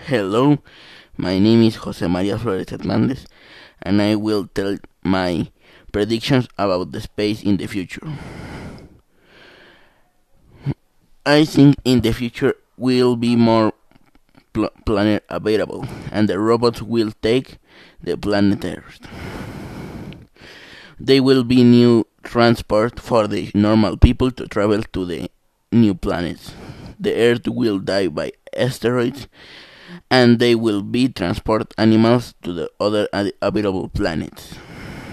Hello, my name is Jose Maria Flores Hernandez, and I will tell my predictions about the space in the future. I think in the future will be more planet available, and the robots will take the planet Earth. There will be new transport for the normal people to travel to the new planets. The Earth will die by asteroids, and they will be transport animals to the other habitable planets.